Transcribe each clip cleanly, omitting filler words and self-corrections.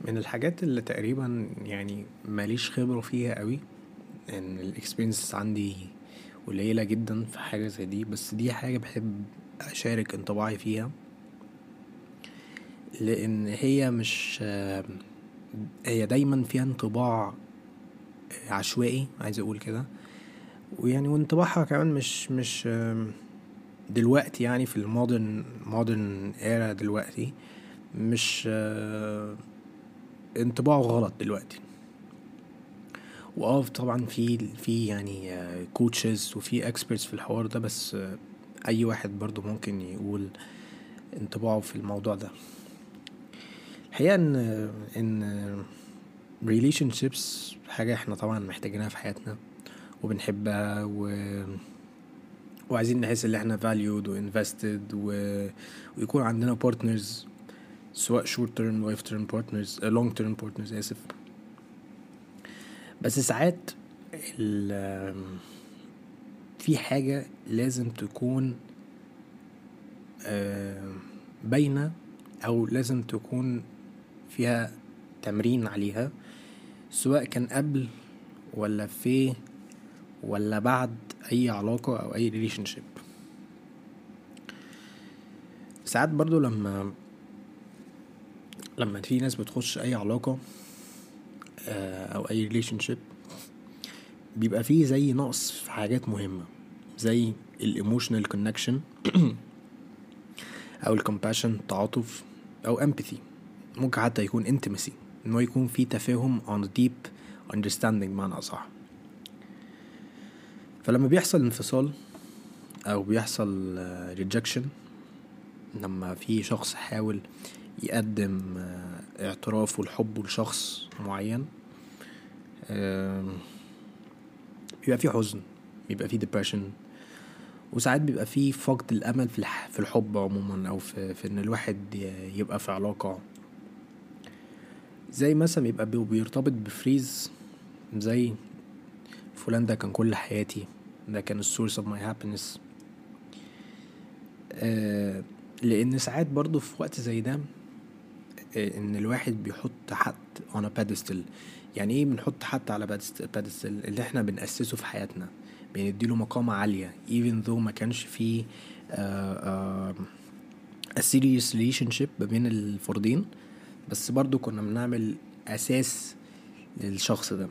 من الحاجات اللي تقريبا يعني ماليش خبرة فيها قوي، ان الاكسبيرينس عندي قليلة جدا في حاجة زي دي، بس دي حاجة بحب اشارك انطباعي فيها. لان هي مش هي دايما فيها انطباع عشوائي، عايز اقول كده. ويعني وانطباعها كمان مش دلوقتي، يعني في المودرن ايرا دلوقتي، مش انطباعه غلط دلوقتي. طبعا في يعني كوتشز وفي اكسبرتس في الحوار ده، بس اي واحد برضو ممكن يقول انطباعه في الموضوع ده. الحقيقة ان relationships حاجة احنا طبعا محتاجينها في حياتنا وبنحبها وعايزين نحس ان احنا valued و invested ويكون عندنا partners، سواء short term life term partners long term partners اسف. بس ساعات في حاجة لازم تكون باينة، او لازم تكون فيها تمرين عليها، سواء كان قبل ولا في ولا بعد اي علاقة او اي ريليشن شيب. ساعات برضو لما في ناس بتخش اي علاقة او اي ريليشن شيب، بيبقى فيه زي نقص في حاجات مهمة، زي الايموشنال كونكشن او الكومباشن، تعاطف، او empathy. ممكن حتى يكون intimacy، انه يكون في تفاهم on deep understanding معنى اصح. فلما بيحصل انفصال او بيحصل rejection، لما في شخص حاول يقدم اعتراف والحب لشخص معين، بيبقى فيه حزن، بيبقى فيه depression، وساعات بيبقى فيه فقد الامل في الحب عموما، او في ان الواحد يبقى في علاقة. زي مثلا يبقى بيرتبط بفريز زي فلان ده كان كل حياتي، ده كان السورس of my happiness. لان ساعات برضو في وقت زي ده ان الواحد بيحط حد on a pedestal. يعني ايه بنحط حد على pedestal؟ اللي احنا بنأسسه في حياتنا، بنديله مقامة عالية even though ما كانش فيه a serious relationship ما بين الفردين، بس برضو كنا بنعمل اساس للشخص ده.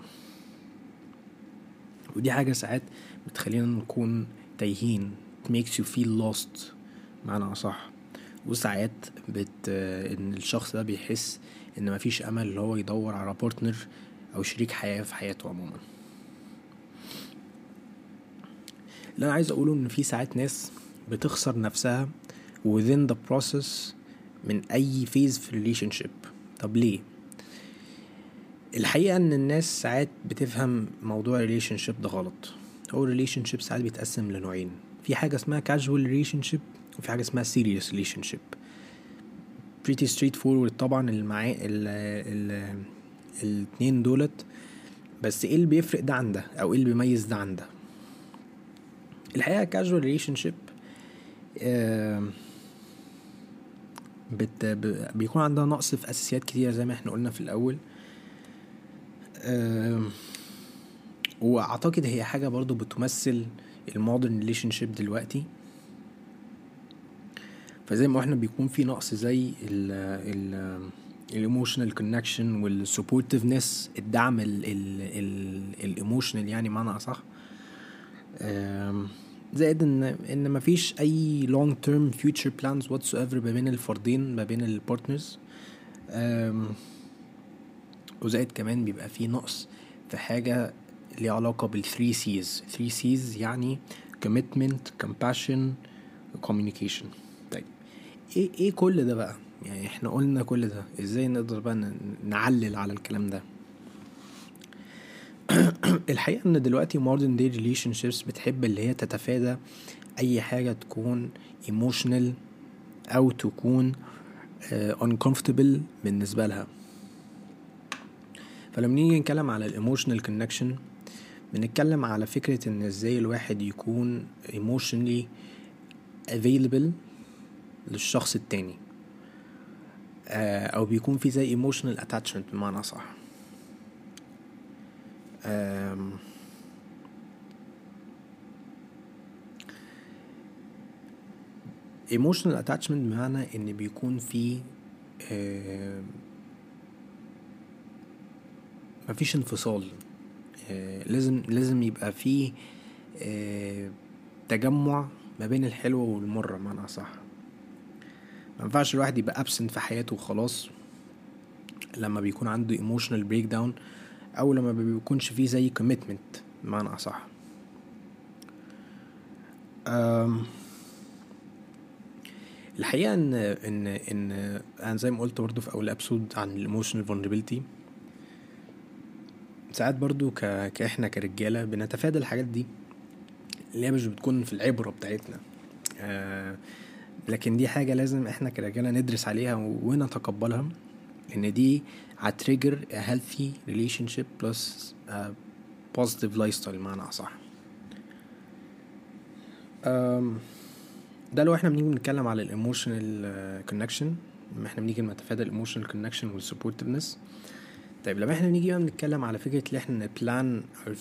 ودي حاجة ساعات بتخلينا نكون تايهين، it makes you feel lost معنى أصح. وساعات ان الشخص ده بيحس ان مفيش امل اللي هو يدور على بارتنر او شريك حياة في حياته عموما. اللي انا عايز اقوله ان في ساعات ناس بتخسر نفسها within the process من اي phase في relationship. طب ليه؟ الحقيقة ان الناس ساعات بتفهم موضوع relationship ده غلط. هو relationship ساعات بيتقسم لنوعين، في حاجة اسمها casual relationship وفي حاجة اسمها serious relationship. pretty straight forward طبعا الاتنين دولت. بس ايه اللي بيفرق ده عن ده، او ايه اللي بيميز ده عن ده؟ الحقيقة casual relationship بيكون عندها نقص في اساسيات كتير زي ما احنا قلنا في الاول. واعتقد هي حاجة برضو بتمثل المودرن ريليشن شيب دلوقتي. فزي ما احنا بيكون في نقص زي الايموشنال كونكشن والسبورتيفنس، الدعم الايموشنال يعني معنى اصح. زائد ان مفيش اي long term future plans whatsoever ما بين الفردين، ما بين البارتنرز. وزائد كمان بيبقى في نقص في حاجة ليها علاقة بالثري سيز. 3 سيز يعني commitment, compassion, communication. طيب ايه كل ده بقى؟ يعني احنا قلنا كل ده، ازاي نقدر بقى نعلل على الكلام ده؟ الحقيقة ان دلوقتي modern day relationships بتحب اللي هي تتفادى اي حاجة تكون emotional او تكون uncomfortable بالنسبة لها. فلما نيجي نتكلم على الايموشنال كونكشن، بنتكلم على فكرة ان ازاي الواحد يكون emotionally available للشخص التاني. او بيكون في زي emotional attachment بمعنى صح. emotional attachment بمعنى ان بيكون في مفيش انفصال. لازم يبقى في تجمع ما بين الحلو والمر بمعنى صح. ما ينفعش الواحد يبقى absent في حياته وخلاص لما بيكون عنده emotional breakdown، او لما بيكونش فيه زي commitment بمعنى اصح. الحقيقه ان انا زي ما قلت برضو في اول ابسود عن الايموشنال vulnerability، ساعات برضو كاحنا كرجاله بنتفادى الحاجات دي اللي هي مش بتكون في العبره بتاعتنا. لكن دي حاجه لازم احنا كرجاله ندرس عليها ونتقبلها، لان دي هتريجر a healthy relationship plus a positive lifestyle بمعنى اصح. ده لو احنا بنيجي نتكلم على الايموشنال كونكشن، لما احنا بنيجي نتفادى الايموشنال كونكشن والسبورتفنس. طيب لما احنا بنيجي نتكلم على فكره ان احنا plan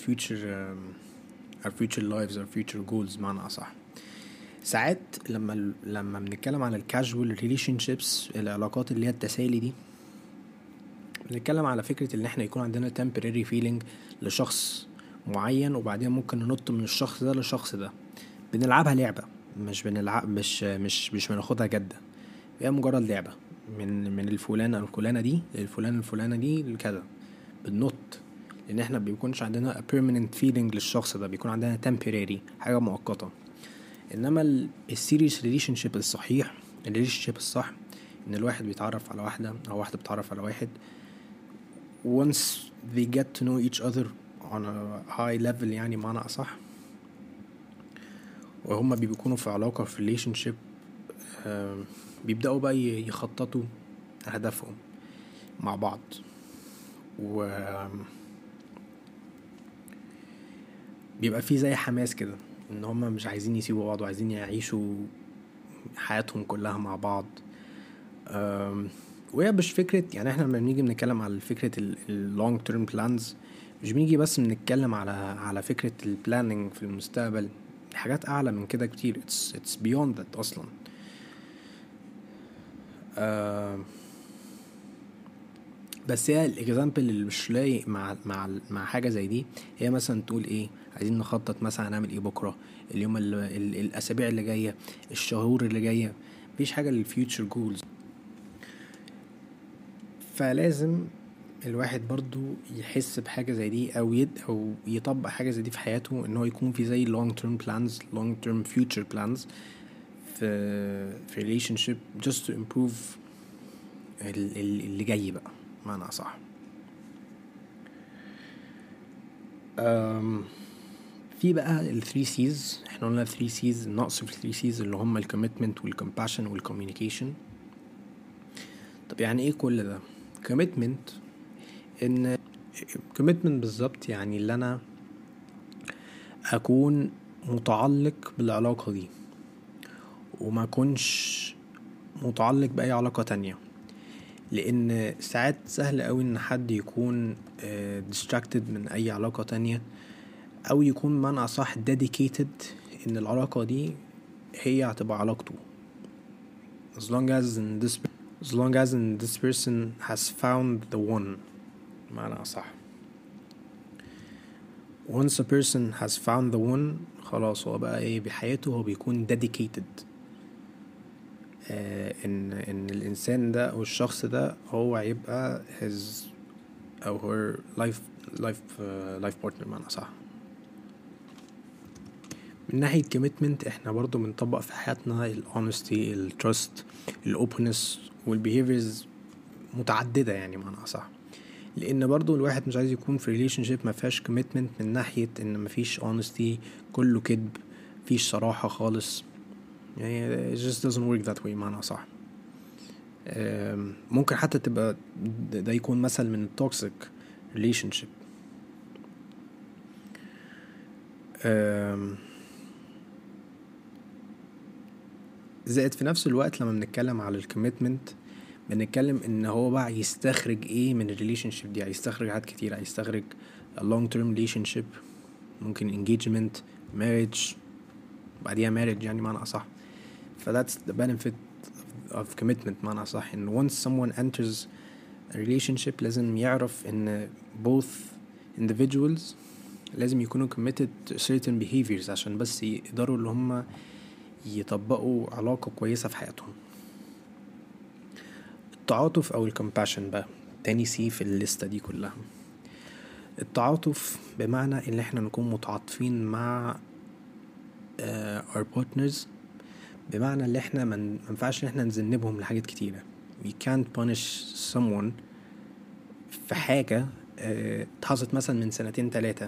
our future lives our future goals بمعنى اصح، ساعات لما بنتكلم على الكاجوال ريليشن شيبس، العلاقات اللي هي التسالي دي، بنتكلم على فكره ان احنا يكون عندنا temporary feeling لشخص معين، وبعدين ممكن ننط من الشخص ده للشخص ده، بنلعبها لعبه، مش بنلعب مش بناخدها جده، هي مجرد لعبه من الفلانه الفلانه دي للفلانه الفلانه دي لكذا، بننط، لان احنا بيكونش عندنا a permanent feeling للشخص ده، بيكون عندنا temporary حاجه مؤقته. انما السيريس ريليشن شيب الصحيح، الريليشن شيب الصح، ان الواحد بيتعرف على واحده او واحده بتتعرف على واحد، once they get to know each other on a high level يعني معنى اصح، وهما بيكونوا في علاقه في ريليشن شيب، بيبداوا بقى يخططوا اهدافهم مع بعض، و بيبقى في زي حماس كده ان هما مش عايزين يسيبوا بعض وعايزين يعيشوا حياتهم كلها مع بعض. وهي مش فكرة يعني احنا لما بنيجي بنتكلم على فكرة اللونج تيرم بلانز، مش بنيجي بس بنتكلم على فكرة البلاننج في المستقبل، حاجات اعلى من كده كتير. it's beyond that اصلا. بس هي الاكزامبل اللي مش لايق مع حاجه زي دي، هي مثلا تقول ايه، عايزين نخطط مثلا هنعمل ايه بكره، اليوم الاسابيع اللي جايه، الشهور اللي جايه، مفيش حاجه للفيوتشر جولز. فلازم الواحد برضو يحس بحاجه زي دي، او يطبق حاجه زي دي في حياته، ان هو يكون في زي long term plans long term future plans في relationship just to improve اللي جاي بقى معنى صح. في بقى ال 3 C's، احنا قلنا 3 C's، النقص في 3 C's اللي هم ال commitment وال compassion وال communication. طب يعني ايه كل ده؟ commitment، ان commitment بالظبط يعني اللي انا اكون متعلق بالعلاقة دي، وما اكونش متعلق بأي علاقة تانية، لان ساعات سهل قوي ان حد يكون distracted من اي علاقة تانية، او يكون بمعنى اصح dedicated ان العلاقة دي هي هتبقى علاقته، as long as this person has found the one بمعنى اصح. once a person has found the one، خلاص هو بقى ايه بحياته، هو بيكون dedicated ان الانسان ده او الشخص ده هو هيبقى his او her life partner بمعنى صح. من ناحية commitment احنا برضو بنطبق في حياتنا ال honesty، ال trust، ال openness وال behaviors متعددة يعني معنى صح، لان برضو الواحد مش عايز يكون في relationship ما فيهاش commitment، من ناحية ان ما فيش honesty، كله كذب، فيش صراحة خالص، يعني it just doesn't work that way معنى صح. ممكن حتى تبقى ده يكون مثل من التوكسيك relationship. زائد في نفس الوقت لما بنتكلم على الكوميتمنت، بنتكلم ان هو بقى يستخرج ايه من الريليشن شيب دي. هيستخرج حاجات كتير، هيستخرج a long term relationship، ممكن engagement، marriage، بعديها marriage يعني معنى اصح. ف that's the benefit of commitment معنى اصح. ان once someone enters a relationship لازم يعرف ان both individuals لازم يكونوا committed to certain behaviors عشان بس يقدروا اللي هم يطبقوا علاقة كويسة في حياتهم. التعاطف او الكمباشن بقى تاني سي في الليستة دي كلها. التعاطف بمعنى ان احنا نكون متعاطفين مع our partners، بمعنى ان احنا ما ينفعش ان احنا نذنبهم لحاجات كتيرة. we can't punish someone في حاجة اتحصلت مثلا من 2-3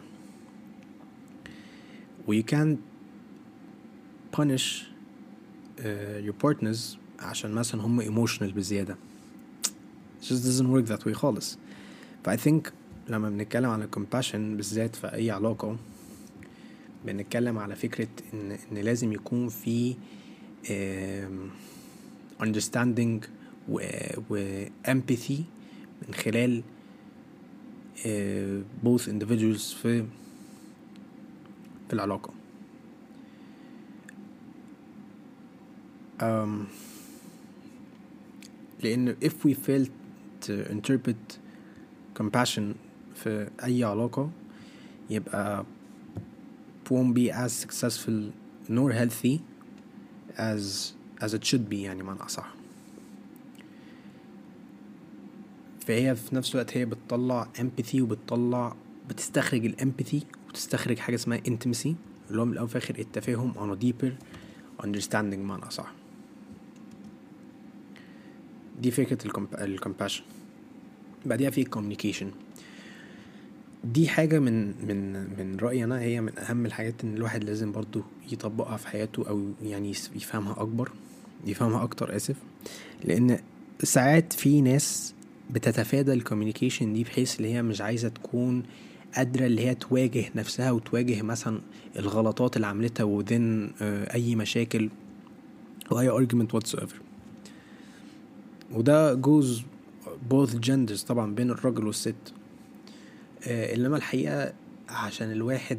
و you can't punish your partners عشان مثلا هم emotional بزيادة. it just doesn't work that way خالص. ف I think لما بنتكلم على compassion بالذات في أي علاقة بنتكلم على فكرة إن لازم يكون في understanding و empathy من خلال both individuals في العلاقة. لأن if we fail to interpret compassion في أي علاقة يبقى won't be as successful nor healthy as it should be يعني معنى أصح. فهي في نفس الوقت هي بتطلع empathy بتستخرج الامباثي وتستخرج حاجة اسمها intimacy اللي هو من الأول في آخر التفاهم on a deeper understanding معنى أصح. دي فكرة الcompassion. بعدها في communication. دي حاجة من رأيي أنا هي من أهم الحاجات إن الواحد لازم برضو يطبقها في حياته أو يعني يفهمها أكتر لأن ساعات في ناس بتتفادى الكوميونيكيشن دي بحيث اللي هي مش عايزة تكون قادرة اللي هي تواجه نفسها وتواجه مثلا الغلطات اللي عملتها وذن أي مشاكل وأي argument whatsoever. وده goes both genders طبعا بين الرجل والست. إنما الحقيقة عشان الواحد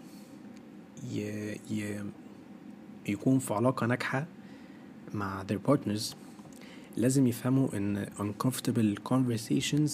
يكون في علاقة ناجحة مع their partners لازم يفهموا ان uncomfortable conversations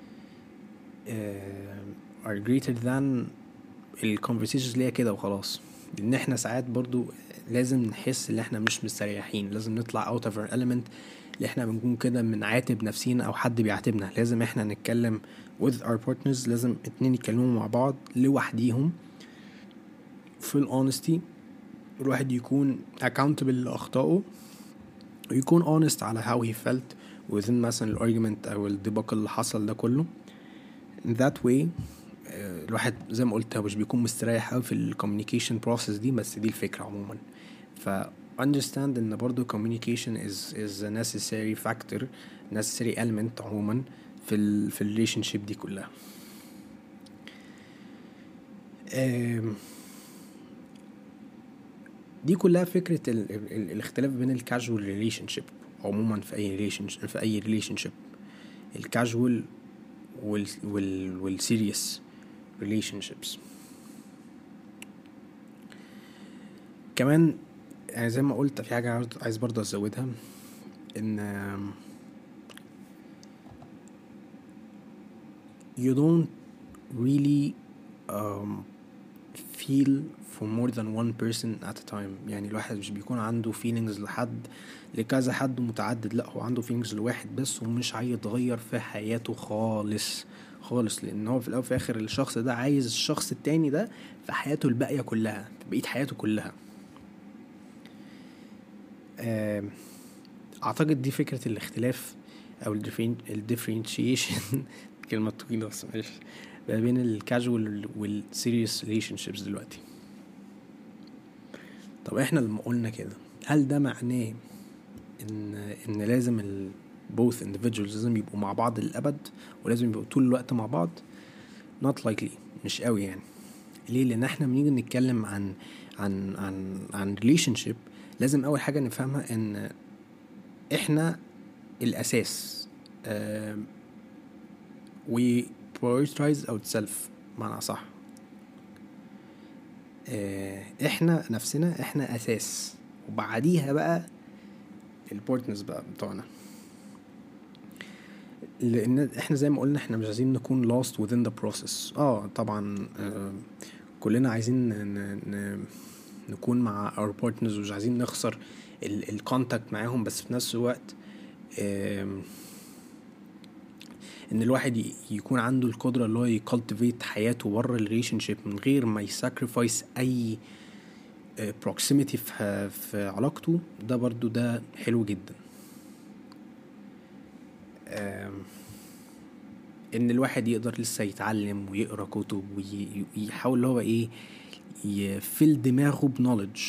are greater than conversations اللي هي كده وخلاص. لان احنا ساعات برضو لازم نحس ان احنا مش مستريحين، لازم نطلع out of our element اللي احنا بنكون كده بنعاتب نفسينا او حد بيعاتبنا. لازم احنا نتكلم with our partners، لازم اتنين يتكلموا مع بعض لوحديهم full honesty. الواحد يكون accountable لأخطائه ويكون honest على how he felt within مثلا الargument أو الديباك اللي حصل ده كله. in that way الواحد زي ما قلت مش بيكون مستريح أوي في communication process دي، بس دي الفكرة عموما. ف understand إن برضو communication is a necessary factor، necessary element عموما في relationship دي كلها. دي كلها فكرة الاختلاف بين الكاجوال ريليشنشيب عموما في اي ريليشنشيب، الكاجوال والسيريس ريليشنشيبس. كمان يعني زي ما قلت في حاجة عايز برضه ازودها، ان you don't really feel for more than one person at a time. يعني الواحد مش بيكون عنده feelings لكذا حد متعدد، لا هو عنده feelings لواحد بس ومش هيتغير في حياته خالص، لان هو في الاول في اخر الشخص ده عايز الشخص التاني ده في حياته الباقية كلها، في بقية حياته كلها. اعتقد دي فكرة الاختلاف او الديفرنشيشن كلمة طويلة بس ماشي، بين الكاجوال والسيريس ريليشنشيبس دلوقتي. طب احنا لما قلنا كده هل ده معناه ان لازم both individuals لازم يبقوا مع بعض للأبد ولازم يبقوا طول الوقت مع بعض؟ not likely، مش قوي يعني. ليه؟ لان احنا بنيجي نتكلم عن relationship لازم اول حاجة نفهمها ان احنا الاساس. we prioritize ourselves معنى صح. احنا نفسنا احنا اساس، وبعديها بقى البارتنرز بقى بتوعنا، لان احنا زي ما قلنا احنا مش عايزين نكون lost within the process. طبعا كلنا عايزين نكون مع our partners، ومش عايزين نخسر الكونتاكت معاهم، بس في نفس الوقت ان الواحد يكون عنده القدرة اللي هو يكالتيفيت حياته بره الريليشنشيب من غير ما يساكريفايس اي proximity في علاقته. ده برضو ده حلو جدا. ان الواحد يقدر لسه يتعلم ويقرأ كتب ويحاول اللي هو ايه يفل دماغه بنوليدج.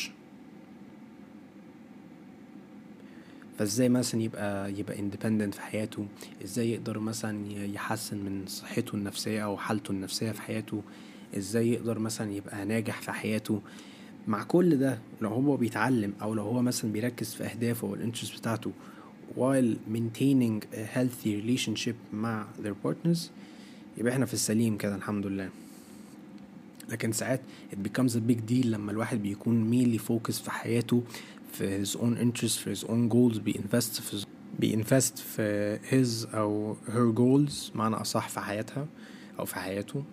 فازاي مثلا يبقى independent في حياته، ازاي يقدر مثلا يحسن من صحته النفسية او حالته النفسية في حياته، ازاي يقدر مثلا يبقى ناجح في حياته. مع كل ده لو هو بيتعلم او لو هو مثلا بيركز في اهدافه والانترست بتاعته while maintaining a healthy relationship مع their partners، يبقى احنا في السليم كده الحمد لله. لكن ساعات it becomes a big deal لما الواحد بيكون mainly focus في حياته في his own interests في his own goals، بيinvest في his أو her goals معنى أصح في حياتها أو في حياته.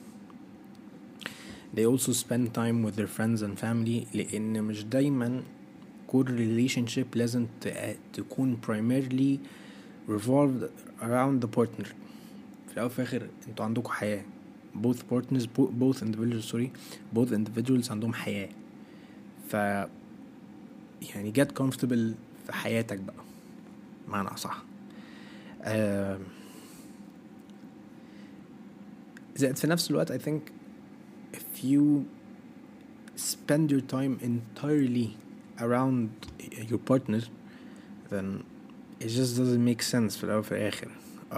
they also spend time with their friends and family، لأن مش دايما كل relationship لازم تكون primarily revolved around the partner. في الأول وفي الآخر انتوا عندكم حياة، both partners both individuals عندهم حياة. ف يعني get comfortable في حياتك بقى معنى أصح. زائد في نفس الوقت I think if you spend your time entirely around your partner then it just doesn't make sense في الأول وفي الآخر.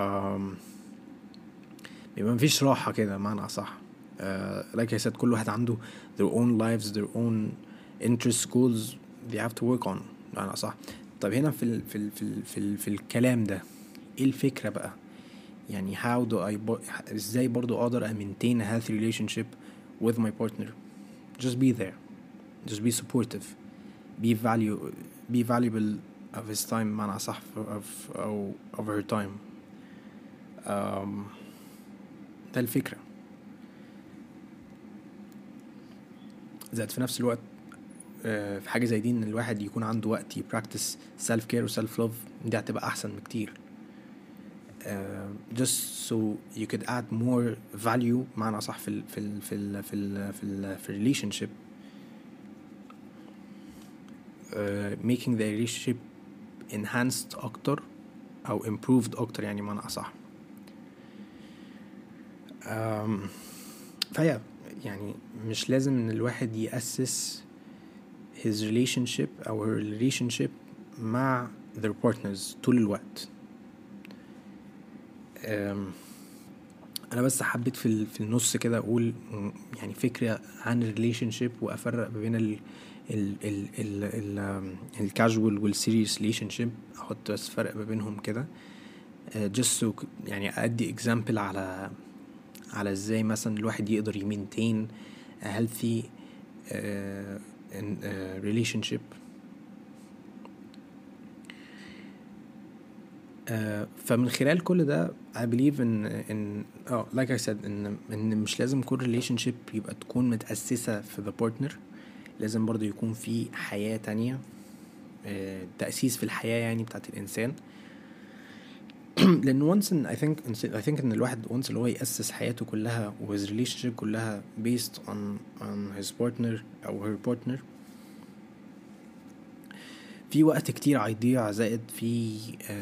بيبقى مفيش راحة كده معنى أصح. like I said كل واحد عنده their own lives their own interests goals they have to work on معنى أصح. طب هنا في الكلام ده ايه الفكرة بقى؟ يعني how do I ازاي برضو اقدر maintain a healthy relationship with my partner؟ just be there, just be supportive, be valuable of his time معنى أصح of her time. ده الفكرة. زائد في نفس الوقت في حاجة زي دي ان الواحد يكون عنده وقت يبراكتس self care و self love، دي هتبقى احسن بكتير. just so you could add more value معنى أصح في relationship، making the relationship enhanced أكتر أو improved أكتر يعني معنى أصح. فهي يعني مش لازم ان الواحد يأسس his relationship أو her relationship مع their partners طول الوقت. أنا بس حبيت في النص كده أقول يعني فكرة عن relationship وأفرق بين ال casual وال serious relationship، أحط بس فرق بينهم كده just so يعني أدي example على ازاي مثلا الواحد يقدر يمينتين a healthy relationship. فمن خلال كل ده I believe in like I said ان مش لازم كل relationship يبقى تكون متأسسة في the partner، لازم برضو يكون في حياة تانية، تأسيس في الحياة يعني بتاعت الإنسان. لأن once I think إن الواحد once اللي هو يأسس حياته كلها و his relationship كلها based on his partner أو her partner، في وقت كتير هيضيع، زائد في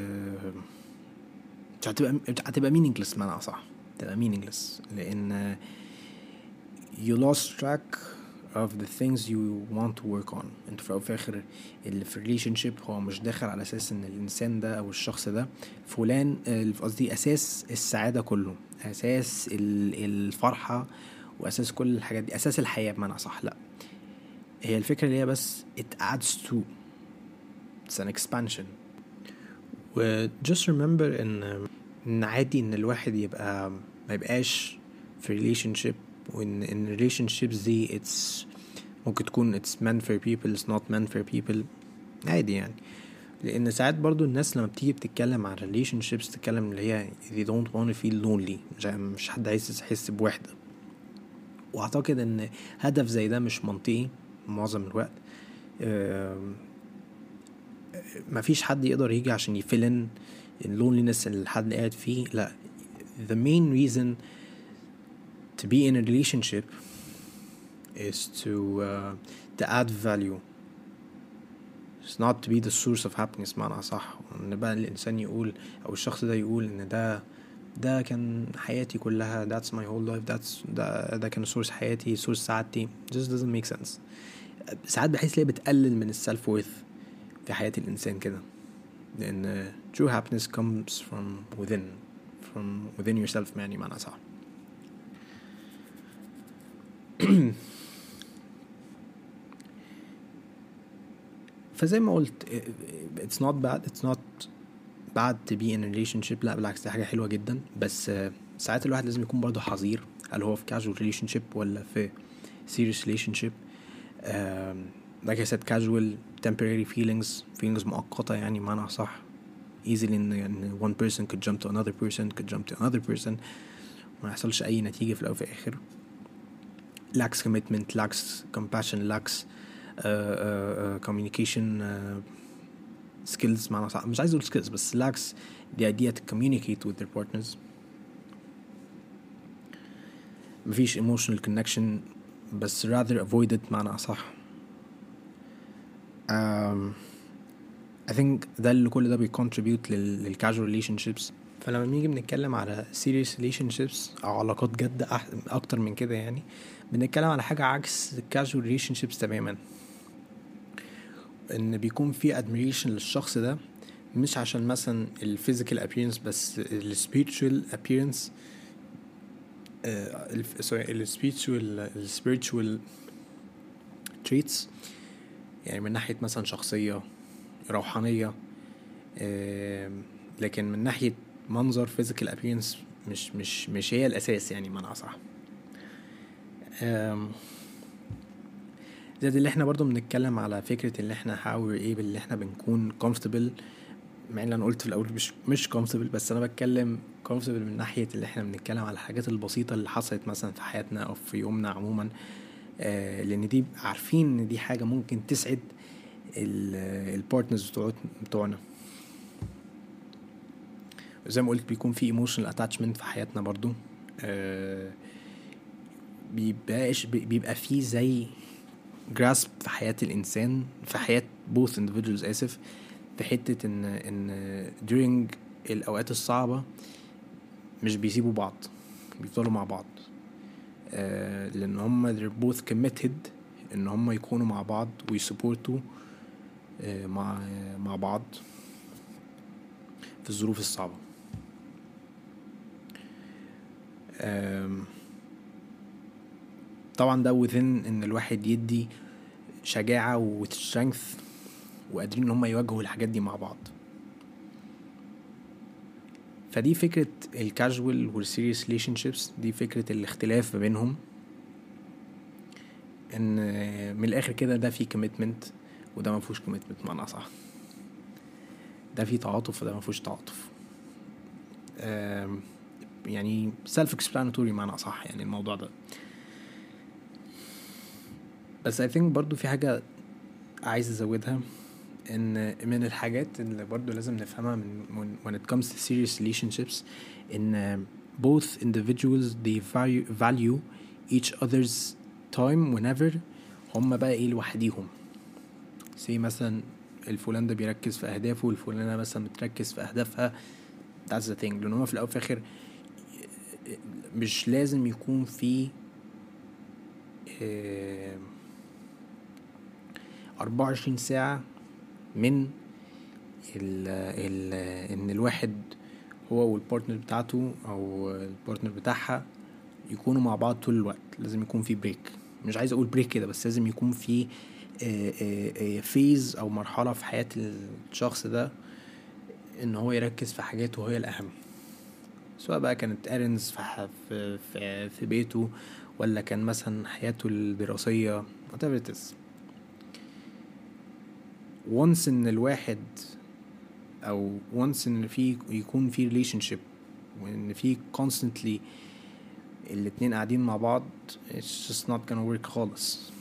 هتبقى meaningless معنى أصح، هتبقى meaningless لأن you lost track of the things you want to work on. انت في آخر اللي في relationship هو مش داخل على أساس ان الإنسان ده أو الشخص ده فلان، قصدي أساس السعادة كله، أساس الفرحة وأساس كل الحاجات دي، أساس الحياة بمعنى صح. لا، هي الفكرة اللي هي بس it adds to it's an expansion. و just remember ان عادي ان الواحد يبقى ما يبقاش في relationship، وان relationships دي ممكن تكون it's meant for people it's not meant for people، عادي يعني. لان ساعات برضو الناس لما بتيجي بتتكلم عن relationships تتكلم اللي هي they don't want to feel lonely، مش حد عايز يحس بوحدة. واعتقد ان هدف زي ده مش منطقي معظم الوقت. مفيش حد يقدر يجي عشان يفلن اللونلينس اللي الحد قاعد فيه. لا، the main reason to be in a relationship is to add value. It's not to be the source of happiness معنى صح. ان بقى الانسان يقول او الشخص ده يقول ان ده كان حياتي كلها، that's my whole life، ده كان source حياتي source سعادتي. just doesn't make sense. ساعات بحس ليه بتقلل من السلف وورث في حياة الانسان كده، لان true happiness comes from within yourself يعني معنى صح. فزي ما قلت it's not bad to be in a relationship. لا بالعكس، دي حاجة حلوة جدا. بس ساعات الواحد لازم يكون برضو حذير، هل هو في casual relationship ولا في serious relationship. like I said, casual temporary feelings مؤقتة يعني معنى صح. easily يعني one person could jump to another person ما يحصلش أي نتيجة في الأول وفي الآخر. lacks commitment, lacks compassion, lacks communication skills معنى صح. مش عايز أقول skills بس lacks the idea to communicate with their partners. مفيش emotional connection بس rather avoid it معنى صح. I think ده اللي كل ده بيcontribute للcasual relationships. فلما نيجي بنتكلم على serious relationships أو علاقات جد أكتر من كده يعني، بنتكلم على حاجة عكس casual relationships تماما. إن بيكون في admiration للشخص ده مش عشان مثلا physical appearance بس spiritual appearance. spiritual traits يعني من ناحية مثلا شخصية روحانية. لكن من ناحية منظر physical appearance مش هي الأساس يعني معنى صح. زي اللي احنا برضو بنتكلم على فكرة اللي احنا حاول اللي احنا بنكون comfortable، مع ان انا قلت في الاول مش comfortable، بس انا بتكلم comfortable من ناحية اللي احنا بنتكلم على الحاجات البسيطة اللي حصلت مثلا في حياتنا او في يومنا عموما. لان دي عارفين ان دي حاجة ممكن تسعد البارتنرز بتوعنا. زي ما قلت بيكون في emotional attachment في حياتنا برضو. بيبقى فيه زي grasp في حياة الإنسان، في حياة both individuals في حتة إن during الأوقات الصعبة مش بيسيبوا بعض، بيفضلوا مع بعض. لأن هم they're both committed إن هم يكونوا مع بعض ويسupportوا مع بعض في الظروف الصعبة. طبعا ده within ان الواحد يدي شجاعة وسترينث وقادرين ان هم يواجهوا الحاجات دي مع بعض. فدي فكرة الكاجوال والسيريس ريليشنشيبس، دي فكرة الاختلاف ما بينهم. ان من الاخر كده ده فيه كوميتمنت وده ما فيهوش كوميتمنت معنى صح. ده فيه تعاطف وده ما فيهوش تعاطف. يعني self explanatory معنى صح يعني الموضوع ده. بس I think برضو في حاجة عايز أزودها، إن من الحاجات اللي برضو لازم نفهمها من when it comes to serious relationships إن both individuals they value each other's time whenever هم بقى لوحديهم. زي مثلا الفلان ده بيركز في أهدافه والفلانة مثلا بتركز في أهدافها. that's the thing. لأن هما في الأول في الآخر مش لازم يكون في 24 ساعة من ان الواحد هو والبارتنر بتاعته او البارتنر بتاعها يكونوا مع بعض طول الوقت. لازم يكون في بريك، مش عايز اقول بريك كده، بس لازم يكون في فيز او مرحلة في حياة الشخص ده ان هو يركز في حاجاته هي الاهم، سواء بقى كانت errands في بيته، ولا كان مثلا حياته الدراسية whatever it is. once ان الواحد او once ان يكون في relationship، وان في constantly الاتنين قاعدين مع بعض، it's just not gonna work خالص.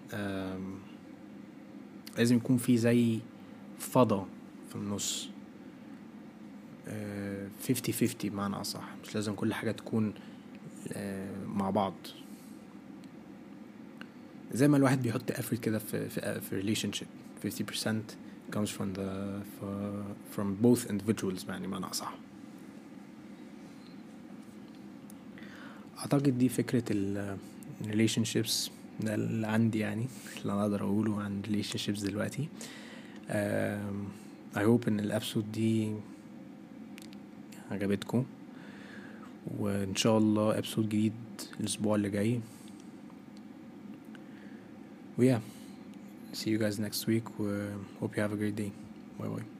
لازم يكون في زي فضا في النص، 50-50 بمعنى أصح. مش لازم كل حاجة تكون مع بعض. زي ما الواحد بيحط effort كده في relationship، 50% comes from both individuals يعني بمعنى أصح. أعتقد دي فكرة relationships ده اللي عندي، يعني اللي أنا أقدر أقوله عن relationships دلوقتي. I hope إن الأبسود دي عجبتكم، وإن شاء الله أبسود جديد الأسبوع اللي جاي. yeah, see you guys next week. Hope you have a great day. Bye bye.